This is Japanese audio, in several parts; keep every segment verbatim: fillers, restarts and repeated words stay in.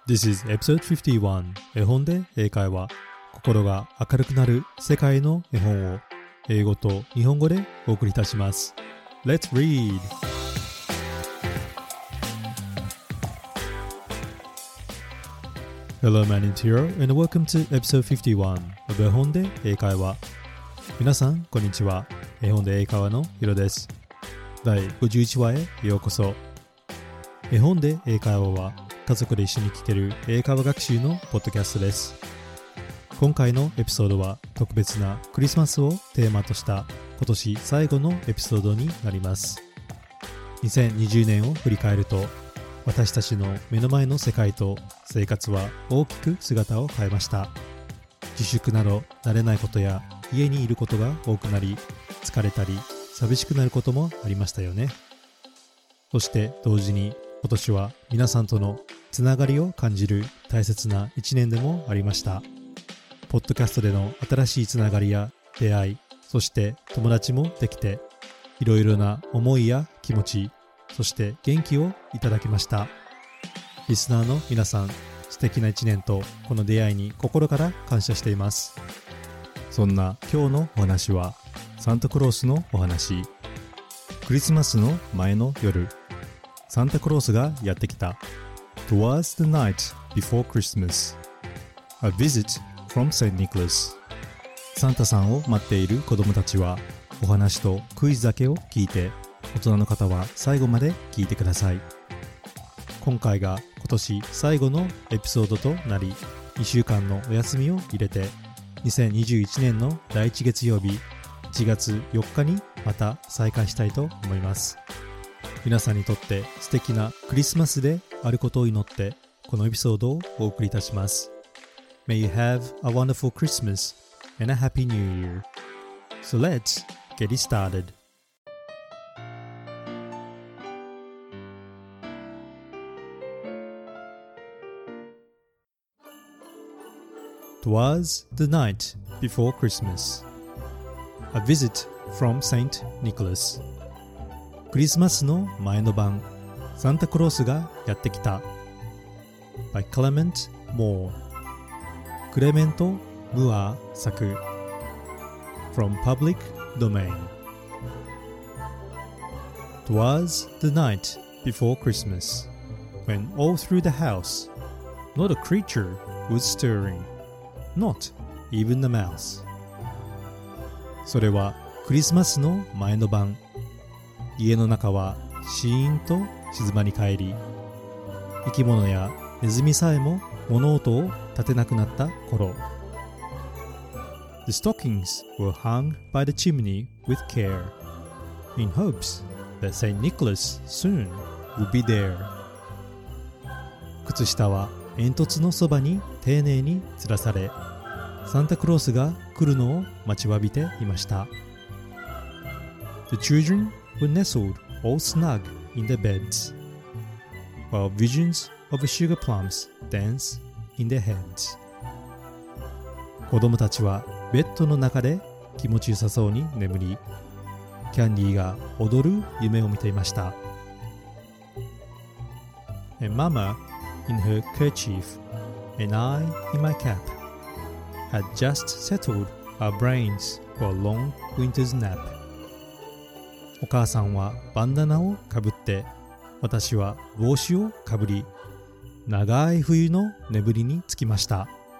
This is episode フィフティワン 絵本で英会話。心が明るくなる世界の絵本を英語と日本語でお送りいたします。Let's read! Hello, my name is Hiro and welcome to episode フィフティワン of 絵本で英会話。皆さん、こんにちは。絵本で英会話のヒロです。だいごじゅういちわへようこそ。絵本で英会話は家族で一緒に聞ける英会話学習のポッドキャストです。今回のエピソードは特別なクリスマスをテーマとした今年最後のエピソードになります。にせんにじゅうねんを振り返ると、私たちの目の前の世界と生活は大きく姿を変えました。自粛など慣れないことや家にいることが多くなり、疲れたり寂しくなることもありましたよね。そして同時に今年は皆さんとのつながりを感じる大切な一年でもありました。ポッドキャストでの新しいつながりや出会い、そして友達もできて、いろいろな思いや気持ち、そして元気をいただきました。リスナーの皆さん、素敵な一年とこの出会いに心から感謝しています。そんな今日のお話は、サンタクロースのお話。クリスマスの前の夜、サンタクロースがやってきた。Twas the night before Christmas. A visit from Saint Nicholas. サンタさんを待っている子供たちは、お話とクイズだけを聞いて、大人の方は最後まで聞いてください。今回が今年最後のエピソードとなり、にしゅうかんのお休みを入れて、にせんにじゅういちねんのだいいち月曜日、いちがつよっかにまた再開したいと思います。皆さんにとって素敵なクリスマスであることを祈ってこのエピソードをお送りいたします。May you have a wonderful Christmas and a happy New Year. So let's get it started. Twas the night before Christmas. A visit from Saint Nicholas.クリスマスの前の晩、サンタクロースがやってきた。by Clement Moore クレメント・ムアー作 from Public Domain. Twas the night before Christmas, when all through the house, not a creature was stirring, not even the mouse. それはクリスマスの前の晩、家の中はシーンと静まり返り、生き物やネズミさえも物音を立てなくなった頃。The stockings were hung by the chimney with care, in hopes that Saint Nicholas soon would be there. 靴下は煙突のそばに丁寧に吊らされ、サンタクロースが来るのを待ちわびていました。The children were nestled all snug in their beds, while visions of sugar plums danced in their heads. 子供たちはベッドの中で気持ちよさそうに眠り、キャンディーが踊る夢を見ていました。And Mama, in her kerchief, and I, in my cap, had just settled our brains for a long winter's nap.お母さんはバンダナをかぶって、私は帽子をかぶり、長い冬の眠りにつきました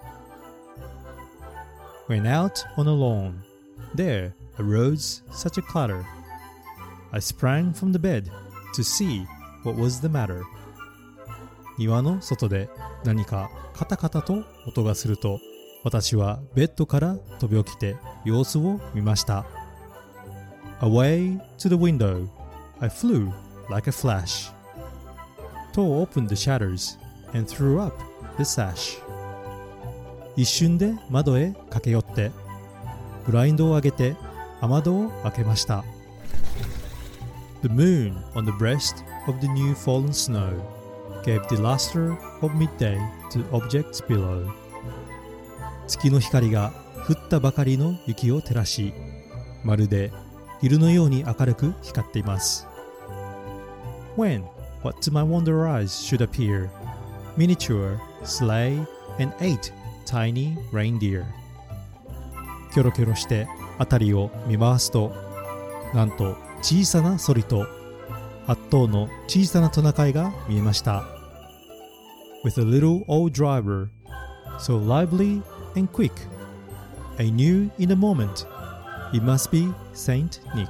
。When out on a lawn, there arose such a clatter. I sprang from the bed to see what was the matter. 庭の外で何かカタカタと音がすると、私はベッドから飛び起きて様子を見ました。Away to the window, I flew like a flash, tore open the shutters, and threw up the sash. 一瞬で窓へ駆け寄って、ブラインドを上げて雨戸を開けました。The moon on the breast of the new fallen snow gave the luster of midday to objects below. 月の光が降ったばかりの雪を照らし、まるで昼のように明るく光っています。When, what to my wonder eyes should appear, miniature sleigh and eight tiny reindeer. キョロキョロして辺りを見回すと、なんと小さなソリとはっ頭の小さなトナカイが見えました。With a little old driver, so lively and quick, I knew in a moment it must be Saint Nick.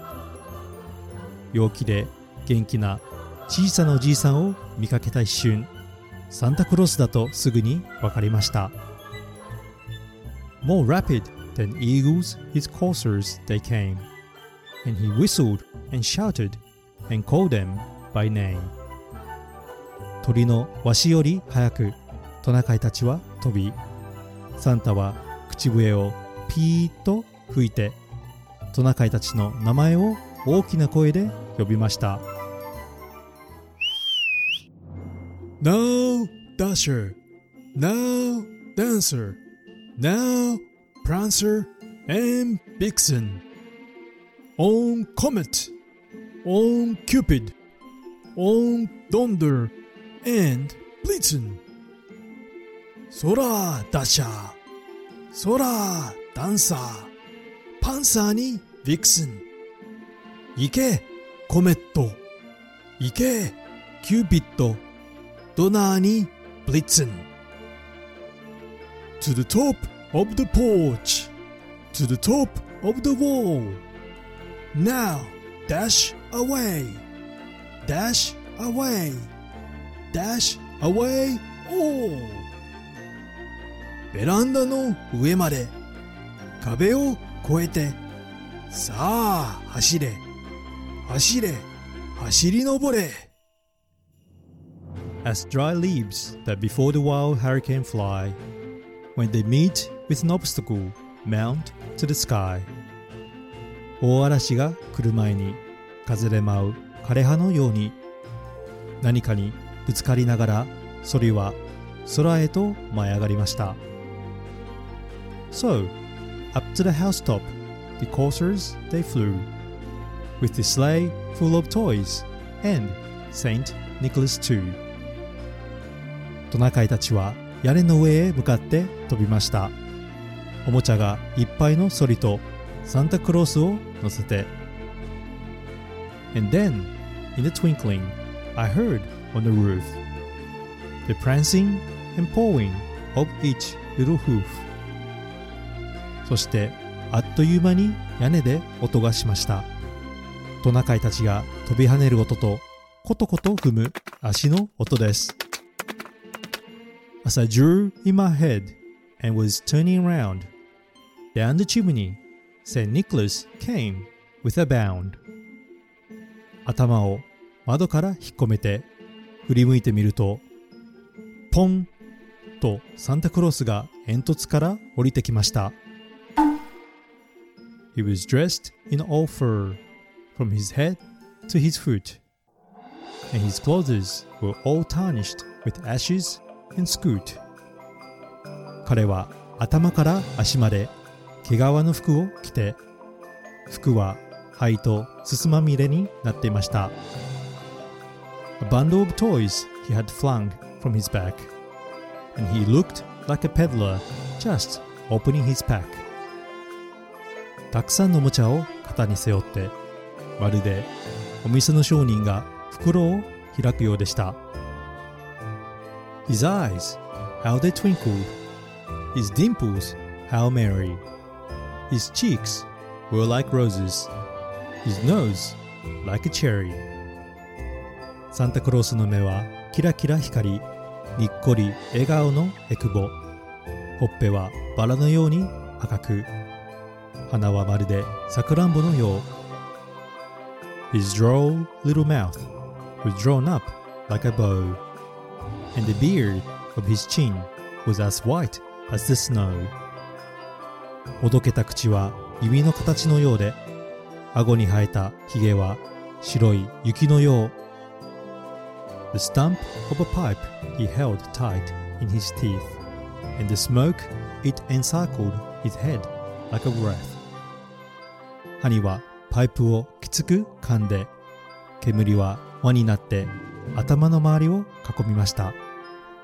陽気で元気な小さなおじいさんを見かけた一瞬、サンタクロースだとすぐに分かりました。More rapid than eagles, his coursers they came, and he whistled and shouted and called them by name. 鳥のわしより早くトナカイたちは飛び、サンタは口笛をピーッと吹いてトナカイたちの名前を大きな声で呼びました。 Now Dasher, now Dancer, now Prancer and Vixen, on Comet, on Cupid, on Donder and Blitzen. そらダッシャー、そらダンサー、パンサーにヴィクスン。行けコメット、行けキューピッド、ドナーにブリッツン。 To the top of the porch, to the top of the wall. Now dash away, dash away, dash away all. ベランダの上まで、壁を越えて、さあ走れ、走れ、走り登れ。 As dry leaves that before the wild hurricane fly, when they meet with an obstacle, mount to the sky. 大嵐が来る前に風で舞う枯葉のように、何かにぶつかりながらソリは空へと舞い上がりました。So, up to the housetop, the coursers they flew, with the sleigh full of toys, and Saint Nicholas too. トナカイたちは屋根の上へ向かって飛びました。おもちゃがいっぱいのソリとサンタクロースを乗せて。And then, in a twinkling, I heard on the roof the prancing and pawing of each little hoof. そしてあっという間に屋根で音がしました。トナカイたちが飛び跳ねる音とコトコト踏む足の音です。As I drew in my head and was turning around, down the chimney, Saint Nicholas came with a bound. 頭を窓から引っ込めて振り向いてみると、ポンとサンタクロースが煙突から降りてきました。He was dressed in all fur, from his head to his foot, and his clothes were all tarnished with ashes and soot. 彼は頭から足まで毛皮の服を着て、服は灰とすすまみれになっていました。A bundle of toys he had flung from his back, and he looked like a peddler just opening his pack. たくさんのおもちゃを肩に背負って、まるでお店の商人が袋を開くようでした。His eyes, how they twinkled. His dimples, how merry. His cheeks were like roses. His nose, like a cherry. サンタクロースの目はキラキラ光り、にっこり笑顔のえくぼ。ほっぺはバラのように赤く、鼻はまるでさくらんぼのよう。His droll little mouth was drawn up like a bow, and the beard of his chin was as white as the snow. おどけた口は弓の形のようで、顎に生えたひげは白い雪のよう。The stump of a pipe he held tight in his teeth, and the smoke it encircled his head like a wreath. 歯にはパイプをきつく噛んで、煙は輪になって頭の周りを囲みました。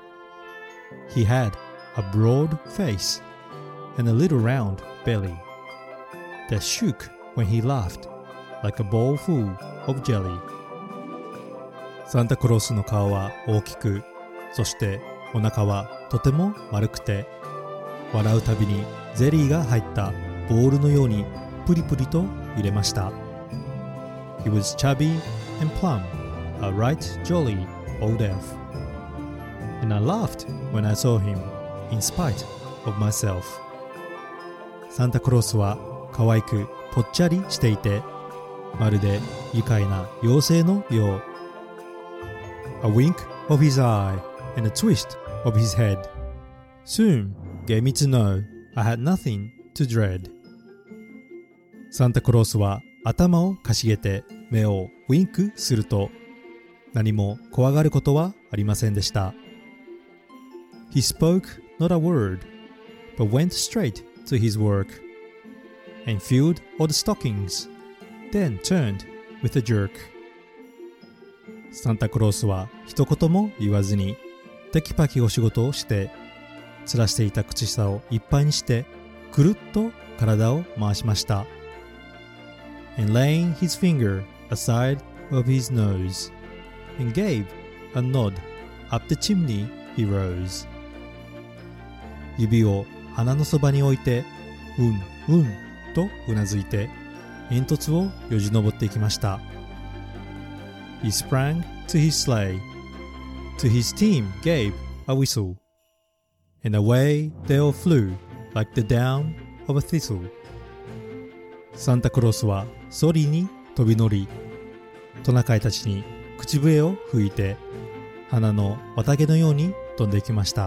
He had a broad face and a little round belly that shook when he laughed like a bowl full of jelly. サンタクロースの顔は大きく、そしてお腹はとても丸くて、笑うたびにゼリーが入ったボールのようにプリプリと揺れました。He was chubby and plump, a right jolly old elf. And I laughed when I saw him, in spite of myself. サンタクロースは可愛くぽっちゃりしていて、まるで愉快な妖精のよう。A wink of his eye and a twist of his head soon gave me to know I had nothing to dread. サンタクロースは頭をかしげて目をウィンクすると、何も怖がることはありませんでした。He spoke not a word, but went straight to his work and filled all the stockings, then turned with a jerk. サンタクロースは一言も言わずにテキパキお仕事をして、吊らしていた口下をいっぱいにしてくるっと体を回しました。And laying his finger aside of his nose and gave a nod up the chimney he rose. 指を鼻のそばに置いて、うんうんとうなずいて煙突をよじ登っていきました。He sprang to his sleigh, to his team gave a whistle, and away they all flew like the down of a thistle. サンタクロースはソリに飛び乗り、トナカイたちに口笛を吹いて、花の綿毛のように飛んでいきました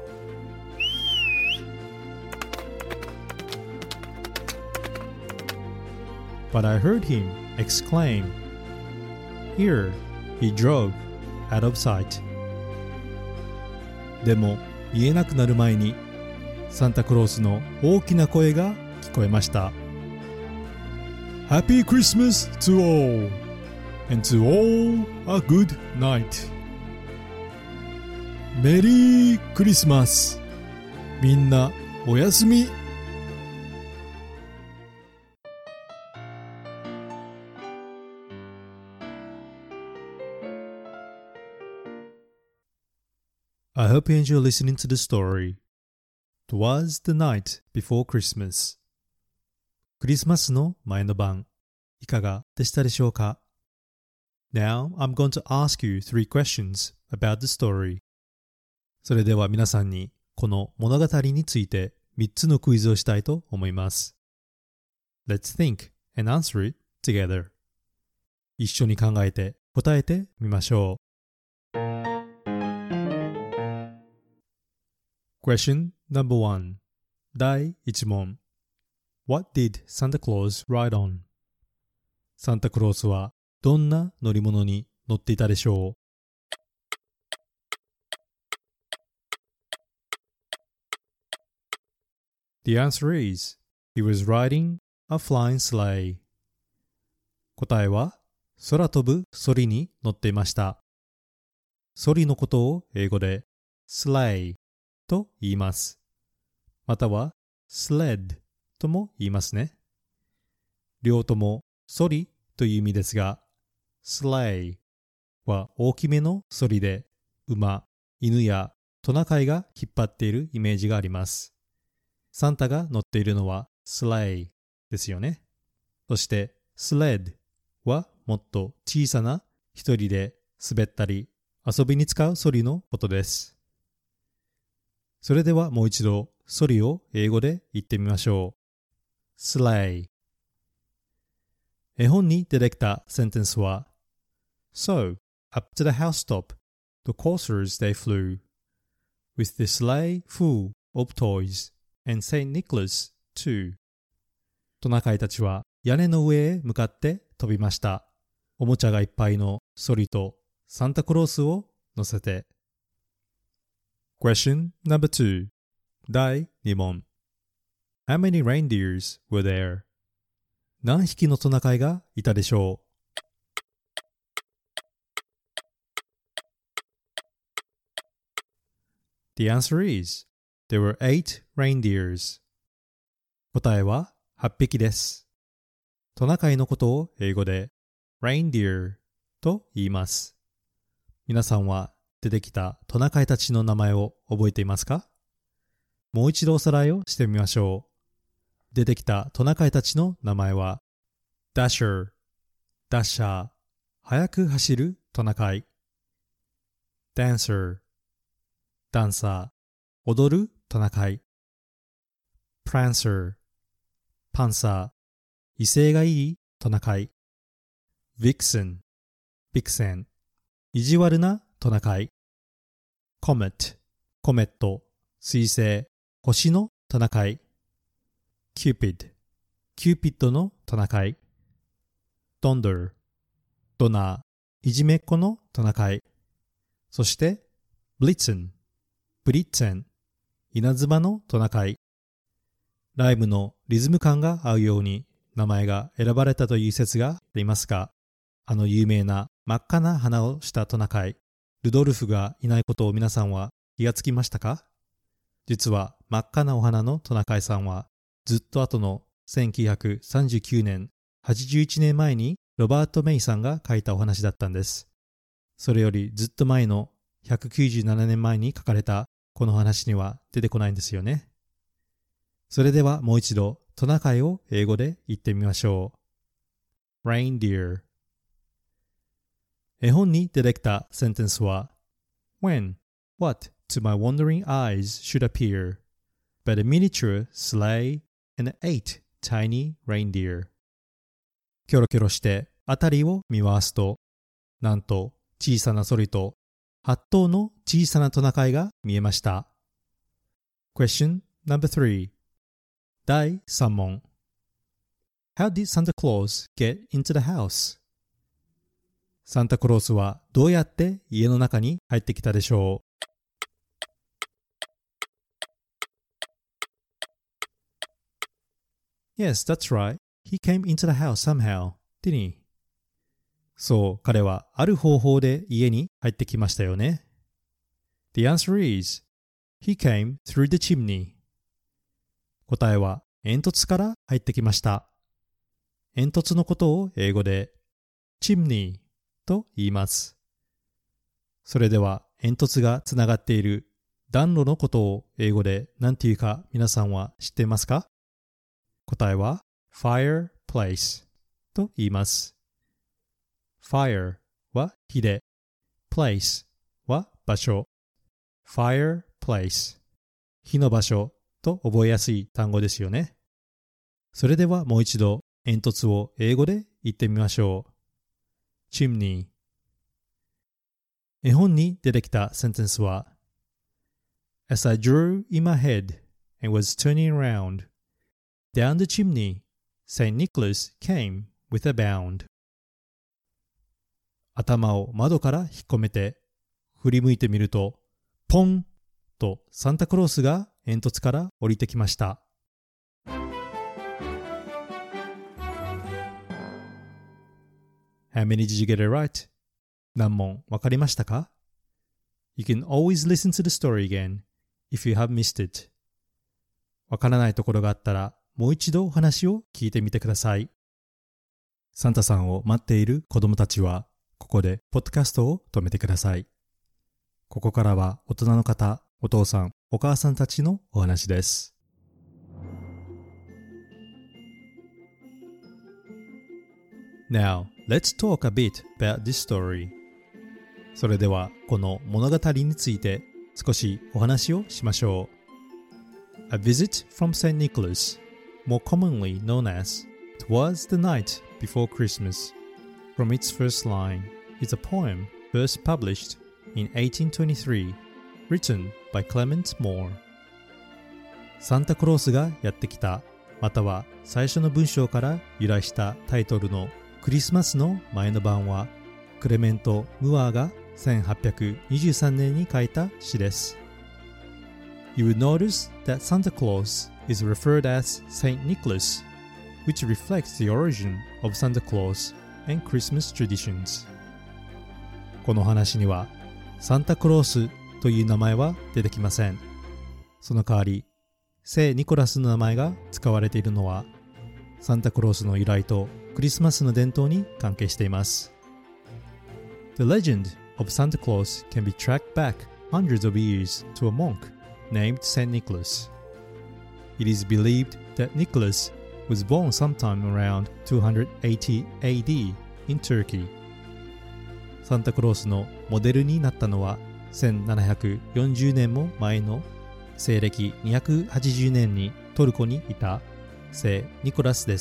。But I heard him exclaim, Here he drove out of sight. でも言えなくなる前にサンタクロースの大きな声が聞こえました。Happy Christmas to all, and to all a good night. メリークリスマス。みんなおやすみ。I hope you enjoy listening to the story. Twas the night before Christmas. クリスマスの前の晩、いかがでしたでしょうか？ Now I'm going to ask you three questions about the story. それでは皆さんにこの物語についてみっつのクイズをしたいと思います。Let's think and answer it together. 一緒に考えて答えてみましょう。Question number one. 第一問。What did Santa Claus ride on? サンタクロースはどんな乗り物に乗っていたでしょう？ The answer is, he was riding a flying sleigh. 答えは、空飛ぶソリに乗っていました。ソリのことを英語で sleighと言います。または sled とも言いますね。両ともソリという意味ですが、sleigh は大きめのソリで馬、犬やトナカイが引っ張っているイメージがあります。サンタが乗っているのは sleigh ですよね。そして sled はもっと小さな一人で滑ったり遊びに使うソリのことです。それではもう一度ソリを英語で言ってみましょう。sleigh。絵本に出てきたセンテンスは So, up to the housetop, the coursers they flew, with the sleigh full of toys, and Saint Nicholas too. トナカイたちは屋根の上へ向かって飛びました。おもちゃがいっぱいのソリとサンタクロースを乗せて。Question number two. 第二問。How many reindeers were there? 何匹のトナカイがいたでしょう？ The answer is, there were eight reindeers. 答えははっぴきです。トナカイのことを英語で reindeer と言います。皆さんは出てきたトナカイたちの名前を覚えていますか？もう一度おさらいをしてみましょう。出てきたトナカイたちの名前は Dasher、ダッシャー、速く走るトナカイ。Dancer、ダンサー、踊るトナカイ。Prancer、パンサー、威勢がいいトナカイ。Vixen、ビクセン、意地悪なトナカイ。Comet、コメット、彗星、星のトナカイ。Cupid、キューピッドのトナカイ。Donder、ドナー、いじめっ子のトナカイ。そして、Blitzen、ブリッツェン、稲妻のトナカイ。ライムのリズム感が合うように名前が選ばれたという説がありますが、あの有名な真っ赤な鼻をしたトナカイ、ルドルフがいないことを皆さんは気がつきましたか？実は真っ赤なお花のトナカイさんはずっと後のせんきゅうひゃくさんじゅうきゅうねん、はちじゅういちねんまえにロバート・メイさんが書いたお話だったんです。それよりずっと前のひゃくきゅうじゅうななねんまえに書かれたこの話には出てこないんですよね。それではもう一度トナカイを英語で言ってみましょう。Reindeer。絵本に出てきたセンテンスは When, what to my wandering eyes should appear, but a miniature sleigh and eight tiny reindeer。キョロキョロしてあたりを見回すと、なんと小さなソリとはっ頭の小さなトナカイが見えました。Question number three。だいさん問。How did Santa Claus get into the house? サンタクロースはどうやって家の中に入ってきたでしょう？ Yes, that's right. He came into the house somehow, didn't he? そう、彼はある方法で家に入ってきましたよね。The answer is, he came through the chimney. 答えは煙突から入ってきました。煙突のことを英語で chimney と言います。それでは煙突がつながっている暖炉のことを英語で何て言うか皆さんは知っていますか？答えは fireplace と言います。Fire は火で、place は場所。Fireplace 火の場所と覚えやすい単語ですよね。それではもう一度煙突を英語で言ってみましょう。Chimney。絵本に出てきたセンテンスは As I drew in my head and was turning around, down the chimney, Saint Nicholas came with a bound。頭を窓から引っ込めて振り向いてみるとポンとサンタクロースが煙突から降りてきました。How many did you get it right? 何問わかりましたか？ You can always listen to the story again if you have missed it。わからないところがあったらもう一度お話を聞いてみてください。サンタさんを待っている子供たちはここでポッドキャストを止めてください。ここからは大人の方、お父さん、お母さんたちのお話です。Now, let's talk a bit about this story. それではこの物語について少しお話をしましょう。A visit from Saint Nicholas, more commonly known as Twas the Night Before Christmas, from its first line, is a poem first published in eighteen twenty-three, written by Clement Moore. サンタクロースがやってきた、または最初の文章から由来したタイトルのクリスマスの前の晩は、クレメント・ムアーがせんはっぴゃくにじゅうさんねんに書いた詩です。You will notice that Santa Claus is referred as Saint Nicholas, which reflects the origin of Santa Claus and Christmas traditions. この話にはサンタクロースという名前は出てきません。その代わり、聖ニコラスの名前が使われているのは、サンタクロースの由来とクリスマスの伝統に関係しています。The legend of Santa Claus can be tracked back hundreds of years to a monk named Saint Nicholas. It is believed that Nicholas was born sometime around two eighty A D in Turkey. サンタクロースのモデルになったのはせんななひゃくよんじゅうねんも前の西暦にひゃくはちじゅうねんにトルコにいた聖ニコラスです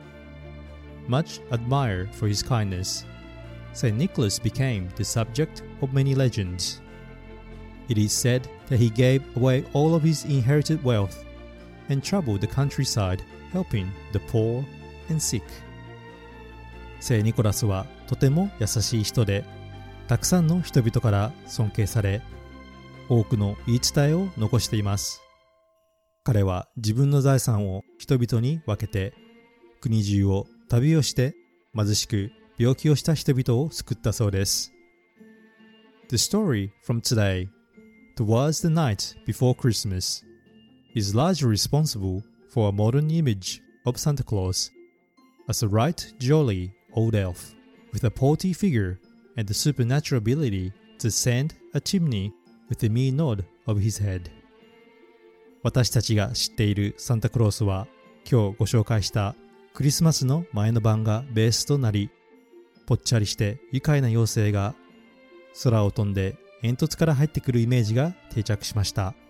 。Much admired for his kindness, Saint Nicholas became the subject of many legends. It is said that he gave away all of his inherited wealth and traveled the countryside helping the poor and sick. 聖ニコラスはとても優しい人で、たくさんの人々から尊敬され、多くの言い伝えを残しています。彼は自分の財産を人々に分けて、国中を旅をして貧しく病気をした人々を救ったそうです。The story from today, towards the night before Christmas, is largely responsible for a modern image of Santa Claus as a right jolly old elf with a portly figure and the supernatural ability to ascend a chimney with a mere nod of his head. 私たちが知っているサンタクロースは今日ご紹介したクリスマスの前の晩がベースとなり、ぽっちゃりして愉快な妖精が空を飛んで煙突から入ってくるイメージが定着しました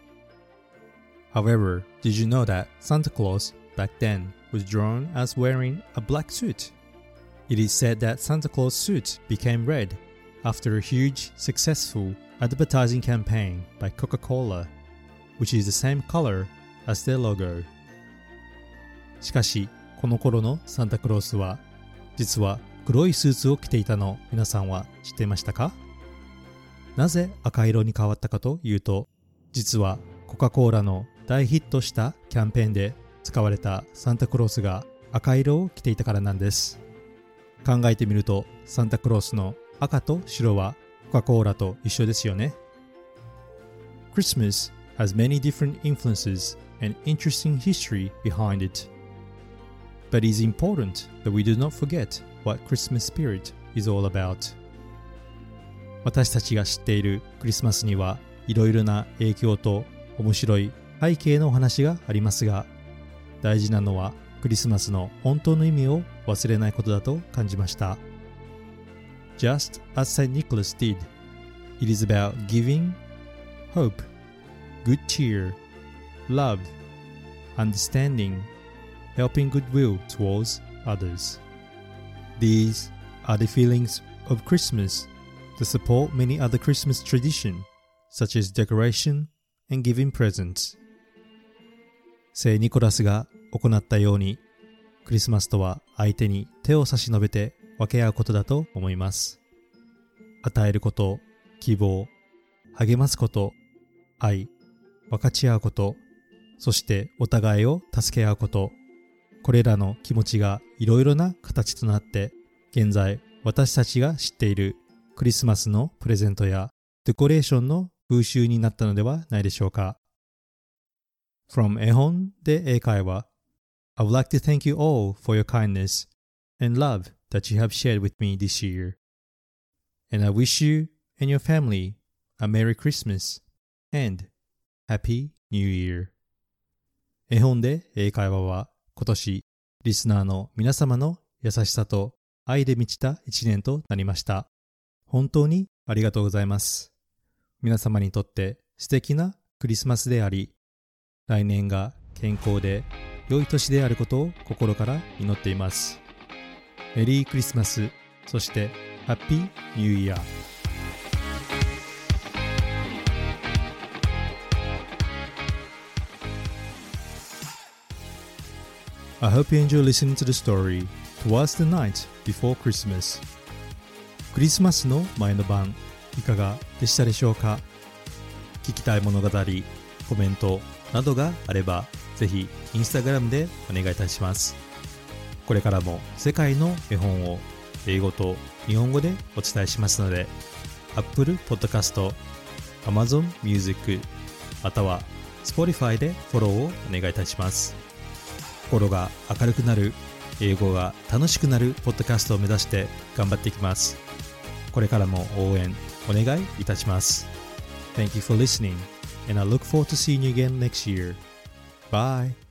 。However, did you know that Santa Claus back then was drawn as wearing a black suit? It is said that Santa Claus' suit became red after a huge, successful advertising campaign by Coca-Cola, which is the same color as their logo. しかし、この頃のサンタクロースは、実は黒いスーツを着ていたの皆さんは知っていましたか？なぜ赤色に変わったかというと、実はコカ・コーラの大ヒットしたキャンペーンで使われたサンタクロースが赤色を着ていたからなんです。考えてみると、サンタクロースの赤と白はコカ・コーラと一緒ですよね。Christmas has many different influences and interesting history behind it. But it is important that we do not forget what Christmas spirit is all about. 私たちが知っているクリスマスにはいろいろな影響と面白い背景のお話がありますが、大事なのはクリスマスの本当の意味を忘れないことだと感じました。Just as Saint Nicholas did, it is about giving hope, good cheer, love, understanding, helping goodwill towards others. These are the feelings of Christmas to support many other Christmas traditions, such as decoration and giving presents. 聖ニコラスが行ったように、クリスマスとは相手に手を差し伸べて分け合うことだと思います。与えること、希望、励ますこと、愛、分かち合うこと、そしてお互いを助け合うこと、これらの気持ちがいろいろな形となって、現在私たちが知っているクリスマスのプレゼントやデコレーションの風習になったのではないでしょうか。From 絵本で英会話 I would like to thank you all for your kindness and love that you have shared with me this year. And I wish you and your family a Merry Christmas and Happy New Year. 絵本で英会話は今年リスナーの皆様の優しさと愛で満ちた一年となりました。本当にありがとうございます。皆様にとって素敵なクリスマスであり、来年が健康で良い年であることを心から祈っています。メリークリスマス、そしてハッピーニューイヤー。I hope you enjoy listening to the story Towards the Night Before Christmas. クリスマスの前の晩、いかがでしたでしょうか？聞きたい物語、コメントなどがあれば、ぜひインスタグラムでお願いいたします。これからも世界の絵本を英語と日本語でお伝えしますので、Apple Podcast、 Amazon Music または Spotify でフォローをお願いいたします。心が明るくなる、英語が楽しくなるポッドキャストを目指して頑張っていきます。これからも応援お願いいたします。Thank you for listening, and I look forward to seeing you again next year. Bye!